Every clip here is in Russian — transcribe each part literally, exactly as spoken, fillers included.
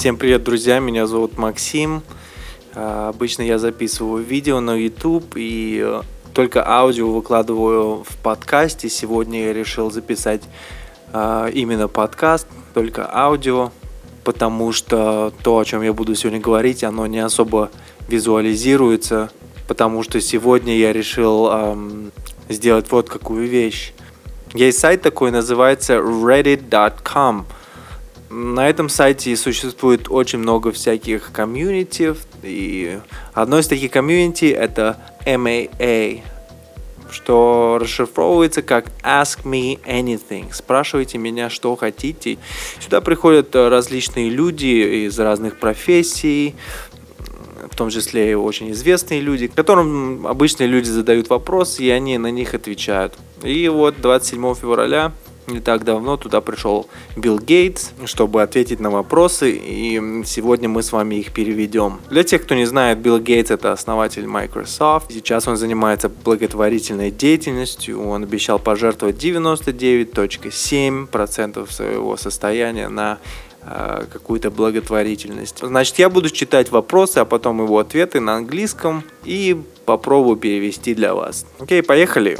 Всем привет, друзья, меня зовут Максим. Обычно я записываю видео на YouTube и только аудио выкладываю в подкасте. Сегодня я решил записать именно подкаст, только аудио, потому что то, о чем я буду сегодня говорить, оно не особо визуализируется, потому что сегодня я решил эм, сделать вот какую вещь. Есть сайт такой, называется reddit точка com. На этом сайте существует очень много всяких комьюнити, и одно из таких комьюнити это эм эй эй, что расшифровывается как Ask Me Anything. Спрашивайте меня, что хотите. Сюда приходят различные люди из разных профессий, в том числе и очень известные люди, которым обычные люди задают вопросы, и они на них отвечают. И вот двадцать седьмого февраля, не так давно, туда пришел Билл Гейтс, чтобы ответить на вопросы, и сегодня мы с вами их переведем. Для тех, кто не знает, Билл Гейтс — это основатель Microsoft. Сейчас он занимается благотворительной деятельностью. Он обещал пожертвовать девяносто девять целых семь десятых процента своего состояния на э, какую-то благотворительность. Значит, я буду читать вопросы, а потом его ответы на английском и попробую перевести для вас. Окей, поехали!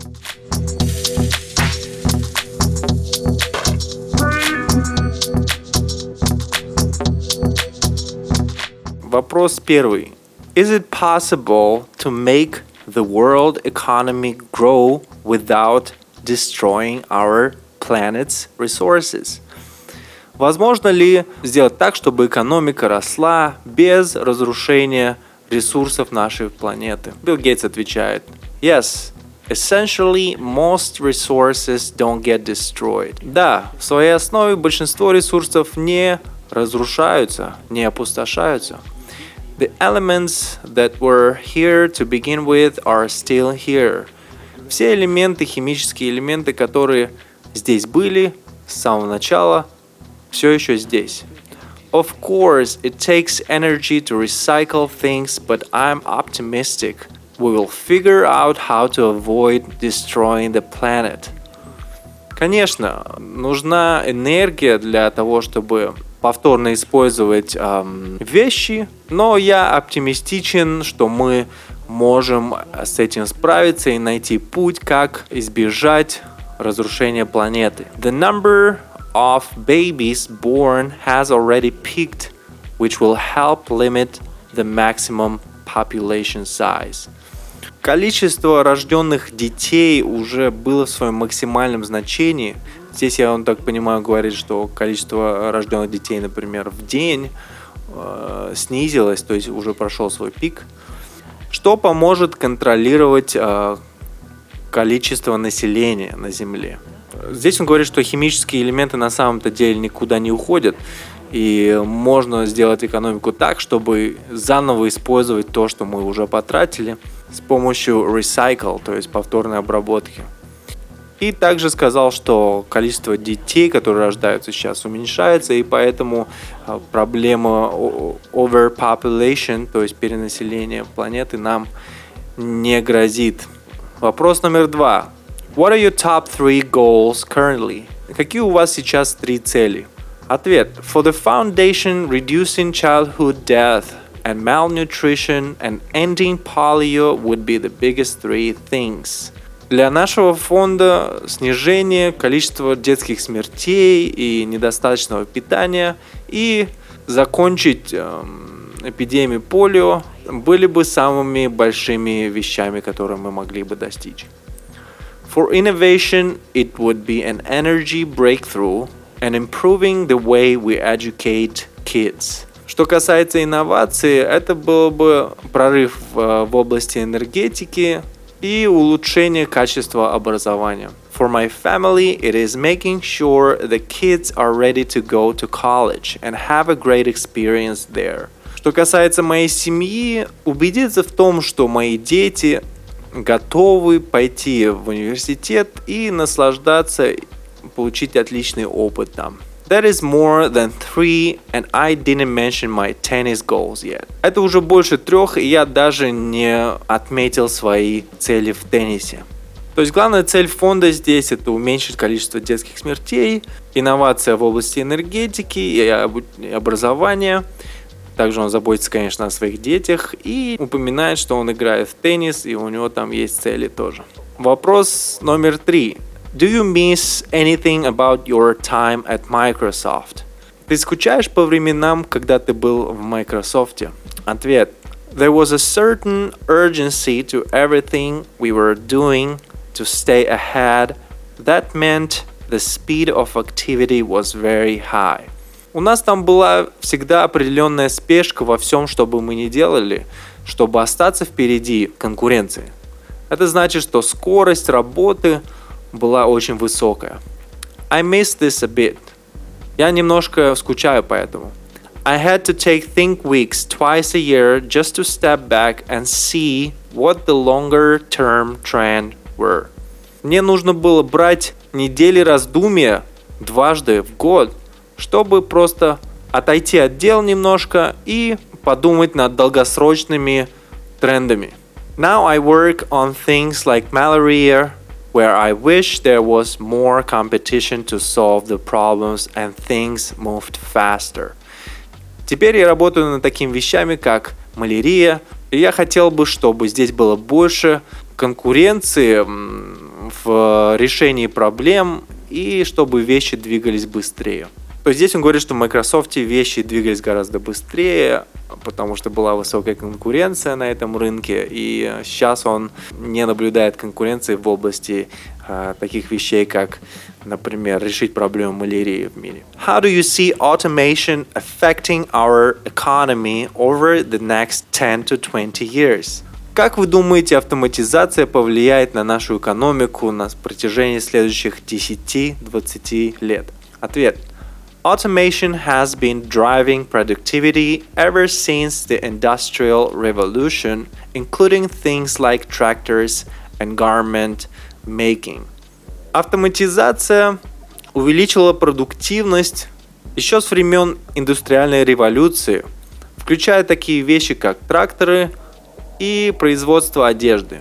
Вопрос первый. Is it possible to make the world economy grow without destroying our planet's resources? Возможно ли сделать так, чтобы экономика росла без разрушения ресурсов нашей планеты? Билл Гейтс отвечает: Yes. Essentially, most resources don't get destroyed. Да, в своей основе большинство ресурсов не разрушаются, не опустошаются. The elements that were here to begin with are still here. Все элементы, химические элементы, которые здесь были с самого начала, все еще здесь. Of course, it takes energy to recycle things, but I'm optimistic. We will figure out how to avoid destroying the planet. Конечно, нужна энергия для того, чтобы повторно использовать эм, вещи, но я оптимистичен, что мы можем с этим справиться и найти путь, как избежать разрушения планеты. The number of babies born has already peaked, which will help limit the maximum population size. Количество рожденных детей уже было в своем максимальном значении. Здесь, я, он так понимаю, говорит, что количество рожденных детей, например, в день э, снизилось, то есть уже прошел свой пик, что поможет контролировать э, количество населения на Земле. Здесь он говорит, что химические элементы на самом-то деле никуда не уходят, и можно сделать экономику так, чтобы заново использовать то, что мы уже потратили, с помощью recycle, то есть повторной обработки. И также сказал, что количество детей, которые рождаются сейчас, уменьшается, и поэтому проблема overpopulation, то есть перенаселения планеты, нам не грозит. Вопрос номер два. What are your top three goals currently? Какие у вас сейчас три цели? Ответ. For the foundation, reducing childhood death and malnutrition and ending polio would be the biggest three things. Для нашего фонда снижение количества детских смертей и недостаточного питания и закончить эм, эпидемию полио были бы самыми большими вещами, которые мы могли бы достичь. For innovation, it would be an energy breakthrough and improving the way we educate kids. Что касается инноваций, это был бы прорыв в, в области энергетики и улучшение качества образования. For my family, it is making sure the kids are ready to go to college and have a great experience there. Что касается моей семьи, убедиться в том, что мои дети готовы пойти в университет и наслаждаться, получить отличный опыт там. That is more than three, and I didn't mention my tennis goals yet. Это уже больше трех, и я даже не отметил свои цели в теннисе. То есть главная цель фонда здесь – это уменьшить количество детских смертей, инновация в области энергетики и образования. Также он заботится, конечно, о своих детях и упоминает, что он играет в теннис, и у него там есть цели тоже. Вопрос номер три. Do you miss anything about your time at Microsoft? Ты скучаешь по временам, когда ты был в Microsoft? Ответ. There was a certain urgency to everything we were doing to stay ahead. That meant the speed of activity was very high. У нас там была всегда определенная спешка во всем, что бы мы ни делали, чтобы остаться впереди конкуренции. Это значит, что скорость работы была очень высокая. I miss this a bit. Я немножко скучаю по этому. I had to take think weeks twice a year just to step back and see what the longer term trend were. Мне нужно было брать недели раздумья дважды в год, чтобы просто отойти от дел немножко и подумать над долгосрочными трендами. Now I work on things like malaria, where I wish there was more competition to solve the problems and things moved faster. Теперь я работаю над такими вещами, как малярия, и я хотел бы, чтобы здесь было больше конкуренции в решении проблем и чтобы вещи двигались быстрее. То есть здесь он говорит, что в Microsoft вещи двигались гораздо быстрее, потому что была высокая конкуренция на этом рынке, и сейчас он не наблюдает конкуренции в области э, таких вещей, как, например, решить проблему малярии в мире. How do you see automation affecting our economy over the next ten to twenty years? Как вы думаете, автоматизация повлияет на нашу экономику на протяжении следующих десяти-двадцати лет? Ответ. Automation has been driving productivity ever since the Industrial Revolution, including things like tractors and garment making. Автоматизация увеличила продуктивность еще с времен индустриальной революции, включая такие вещи, как тракторы и производство одежды.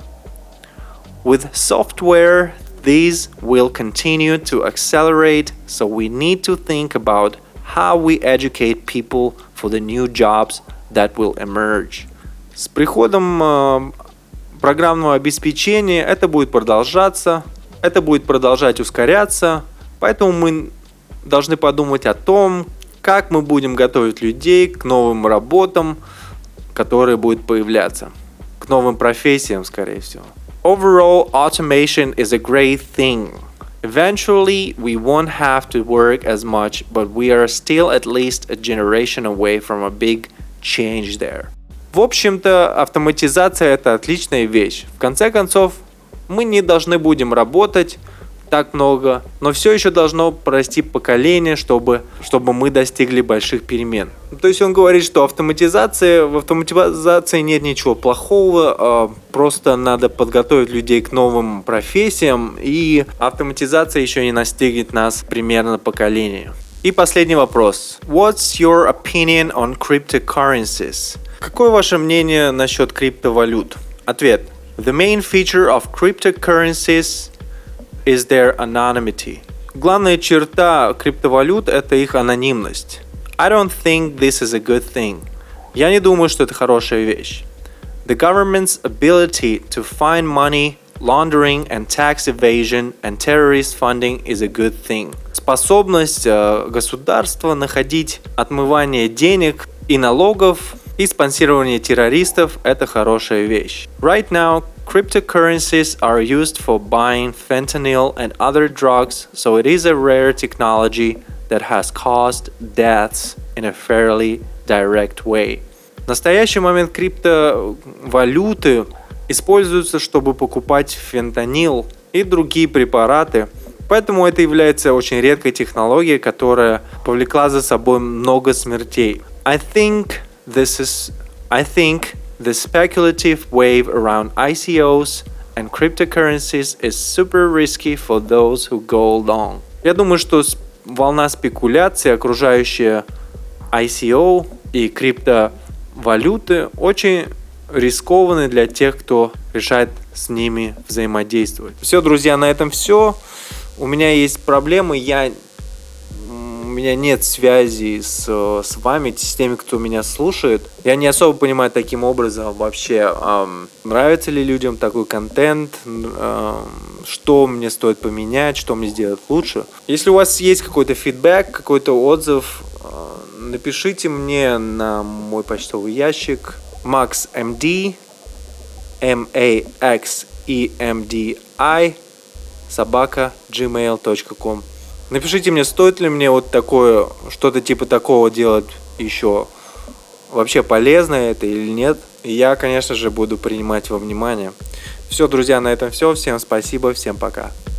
With software, these will continue to accelerate, so we need to think about how we educate people for the new jobs that will emerge. С приходом э, программного обеспечения это будет продолжаться, это будет продолжать ускоряться, поэтому мы должны подумать о том, как мы будем готовить людей к новым работам, которые будут появляться, к новым профессиям, скорее всего. Overall, automation is a great thing. Eventually, we won't have to work as much, but we are still at least a generation away from a big change there. В общем-то, автоматизация – это отличная вещь. В конце концов, мы не должны будем работать так много, но все еще должно пройти поколение, чтобы, чтобы мы достигли больших перемен. То есть он говорит, что автоматизация, в автоматизации нет ничего плохого, просто надо подготовить людей к новым профессиям, и автоматизация еще не настигнет нас примерно поколение. И последний вопрос. What's your opinion on cryptocurrencies? Какое ваше мнение насчет криптовалют? Ответ. The main feature of cryptocurrencies is their anonymity. Главная черта криптовалют – это их анонимность. I don't think this is a good thing. Я не думаю, что это хорошая вещь. The government's ability to find money laundering and tax evasion and terrorist funding is a good thing. Способность э, государства находить отмывание денег и налогов и спонсирование террористов – это хорошая вещь. Right now, cryptocurrencies are used for buying fentanyl and other drugs, so it is a rare technology that has caused deaths in a fairly direct way. В настоящий момент криптовалюты используются, чтобы покупать фентанил и другие препараты, поэтому это является очень редкой технологией, которая повлекла за собой много смертей. I think this is, I think the speculative wave around I C Os and cryptocurrencies is super risky for those who go long. Я думаю, что волна спекуляций, окружающая I C O и криптовалюты, очень рискованны для тех, кто решает с ними взаимодействовать. Все, друзья, на этом все. У меня есть проблемы, я... у меня нет связи с, с вами, с теми, кто меня слушает. Я не особо понимаю таким образом вообще, эм, нравится ли людям такой контент, эм, что мне стоит поменять, что мне сделать лучше. Если у вас есть какой-то фидбэк, какой-то отзыв, э, напишите мне на мой почтовый ящик maxemd, эм эй экс и эм ди ай, собака gmail точка ком. Напишите мне, стоит ли мне вот такое, что-то типа такого делать еще. Вообще полезно это или нет. И я, конечно же, буду принимать во внимание. Все, друзья, на этом все. Всем спасибо, всем пока.